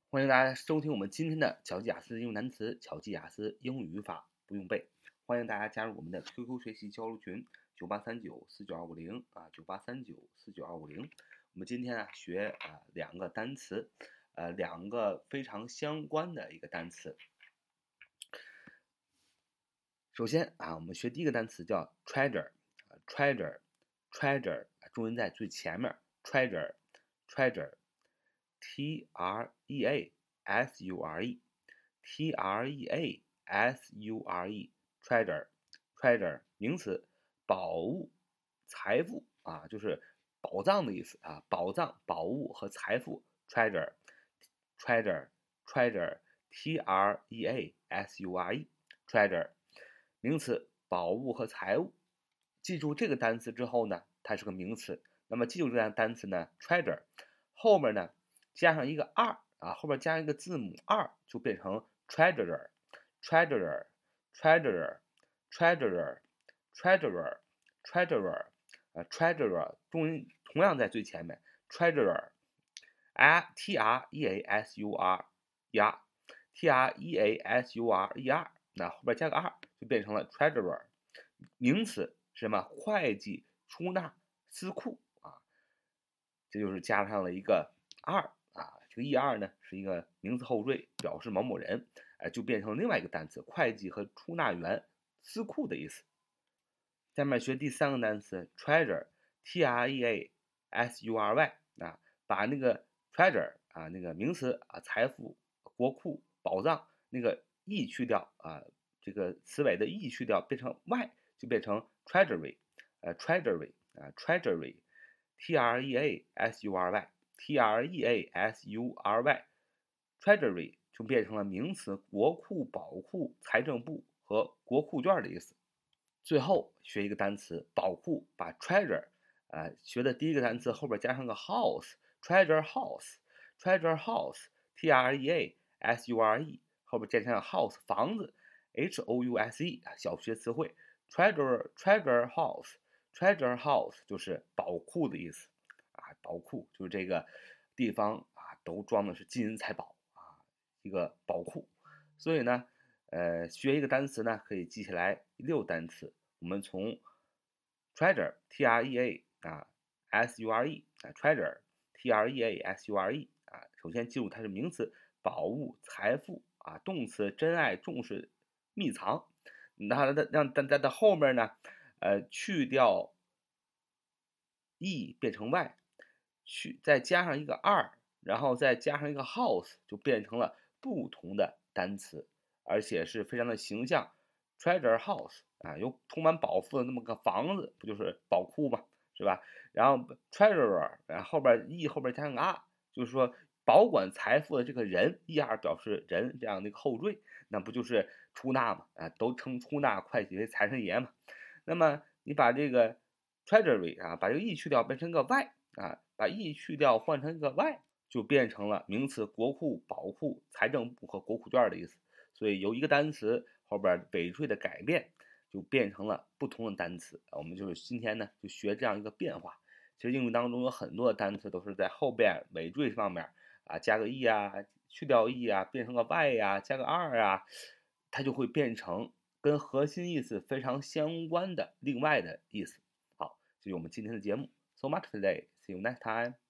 欢迎大家收听我们今天的巧记雅思应用单词、巧记雅思英语语法不用背。欢迎大家加入我们的 QQ 学习交流群98394922509839492250。我们今天学两个单词，两个非常相关的一个单词。首先我们学第一个单词叫 treasure，treasure，treasure，重音在最前面 treasure，treasure，treasure，treasure，treasure，名词，宝物、财富就是宝藏的意思宝藏、宝物和财富 treasure，treasure，treasure，treasure，treasure，名词，宝物和财物。记住这个单词之后呢，它是个名词。那么记住这个单词呢 ，treasure 后面呢加上一个2后面加上一个字母2，就变成 treasurer，treasurer，treasurer，treasurer，treasurer，treasurer，重音同样在最前面 treasure，treasure，treasure，那后边加个2就变成了 treasurer。名词是什么？会计、出纳、司库这就是加上了一个2这个 er 呢是一个名词后缀，表示某某人，就变成另外一个单词，会计和出纳员、司库的意思。下面学第三个单词 treasure，treasury 把那个 treasure 那个名词财富、国库、宝藏那个 e 去掉这个词尾的 e 去掉，变成 y 就变成 treasury，treasury，treasury，treasury，treasury 就变成了名词，国库、宝库、财政部和国库券的意思。最后学一个单词，宝库，把 treasure 学的第一个单词后边加上个 house，treasure house，treasure house，treasure 后边加上 house 房子 ，house 小学词汇 treasure house，treasure house 就是宝库的意思宝库就是这个地方都装的是金银财宝一个宝库。所以呢学一个单词呢可以记起来6单词。我们从 treasure treasure treasure 首先记住它是名词，宝物、财富动词珍爱、重视、秘藏。那让在后面呢去掉 e 变成 y， 再加上一个2，然后再加上一个 house， 就变成了不同的单词，而且是非常的形象。treasure house 有充满宝富的那么个房子，不就是宝库吗？是吧？然后 treasurer， 然后后边 e 后边加上个就是说保管财富的这个人 er 表示人这样的一个后缀，那不就是出纳嘛？都称出纳会计为财神爷嘛。那么你把这个 treasury 把这个 e 去掉，变成个 y 把 e 去掉换成一个 y， 就变成了名词，国库、宝库、财政部和国库券的意思。所以由一个单词后边尾缀的改变，就变成了不同的单词。我们就是今天呢就学这样一个变化。其实英语当中有很多的单词都是在后边尾缀上面加个 e 去掉 e 变成个 y 加个2它就会变成跟核心意思非常相关的另外的意思。好，这是我们今天的节目。So much today. See you next time.